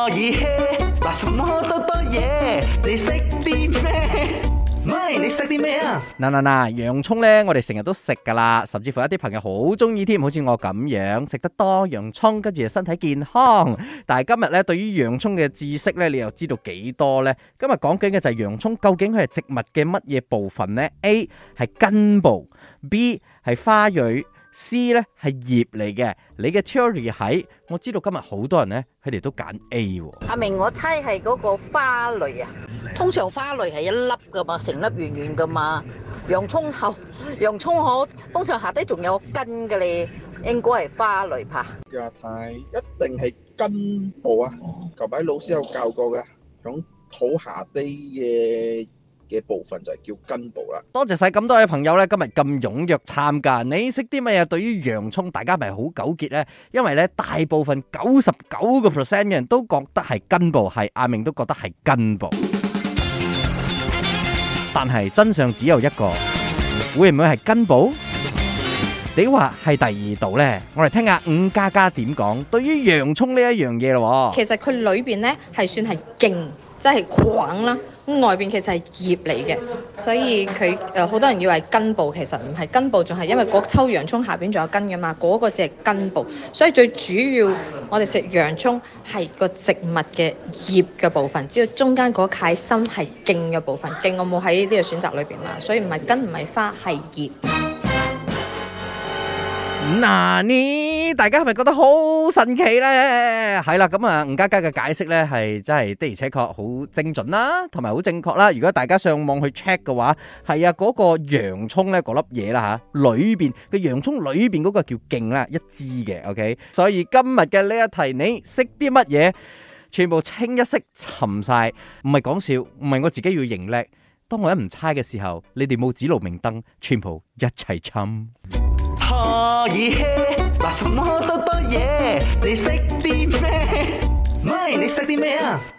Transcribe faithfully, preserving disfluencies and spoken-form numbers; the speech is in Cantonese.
可以嘿，嗱什麼多多嘢，你識啲咩？咪你識啲咩啊？ 嗱嗱嗱，洋葱咧，我哋成日都食噶啦，甚至乎一啲朋友好中意添，好似我咁樣食得多洋葱，跟住身體健康。但係今日咧，對於洋葱嘅知識咧，你又知道幾多呢？今日講緊嘅就係洋葱，究竟佢係植物嘅乜嘢部分呢？ A 係根部 ，B 係花蕊。C 咧係葉嚟嘅，你嘅 theory 係，我知道今日好多人咧，佢哋都揀 A 喎。 阿明，我猜係嗰個花蕾啊，通常花蕾係一粒噶嘛，成粒圓圓噶嘛。洋葱後，洋葱可通常下低仲有根嘅咧，應該係花蕾吧。 亞太一定係根部啊，舊擺老師有教過嘅，響土下低嘅嘅部分就係叫根部啦。 多謝晒咁多位朋友咧，今日咁踴躍參加。你識啲乜嘢？對於洋葱，大家咪好糾結咧？因為咧，大部分九十九個 percent 嘅人都覺得係根部，係阿明都覺得係根部。但係真相只有一個，會唔會係根部？你話係第二度咧？我哋聽下伍家家點講。對於洋葱呢一樣嘢咯， 其實佢裏邊咧係算係莖，即係梗啦。咁外邊其實係葉嚟嘅，所以佢誒好多人以為根部，其實唔係根部，仲係因為嗰抽洋葱下邊仲有根㗎嘛，嗰、嗰個只係根部。所以最主要我哋食洋葱係個植物嘅葉嘅部分，只要中間嗰塊心係莖嘅部分，莖我冇喺呢個選擇裏邊嘛，所以唔係根唔係花係葉。 嗱，呢大家係咪覺得好神奇呢？係啦，咁啊，吳家家嘅解釋呢係真係的而且確好精準啦，同埋好正確啦。如果大家上網去 check 嘅話，係啊，嗰個洋葱呢，嗰粒嘢啦吓，裏邊嘅洋葱裏邊嗰個叫莖啦，一支嘅 ，OK。所以今日嘅呢一題，你識啲乜嘢？全部清一色沉晒，唔係講笑，唔係我自己要認叻。當我一唔猜嘅時候，你哋冇指路明燈，全部一齊沉。 可以嘿，嗱什麼多多嘢，你識啲咩？咪你識啲咩啊？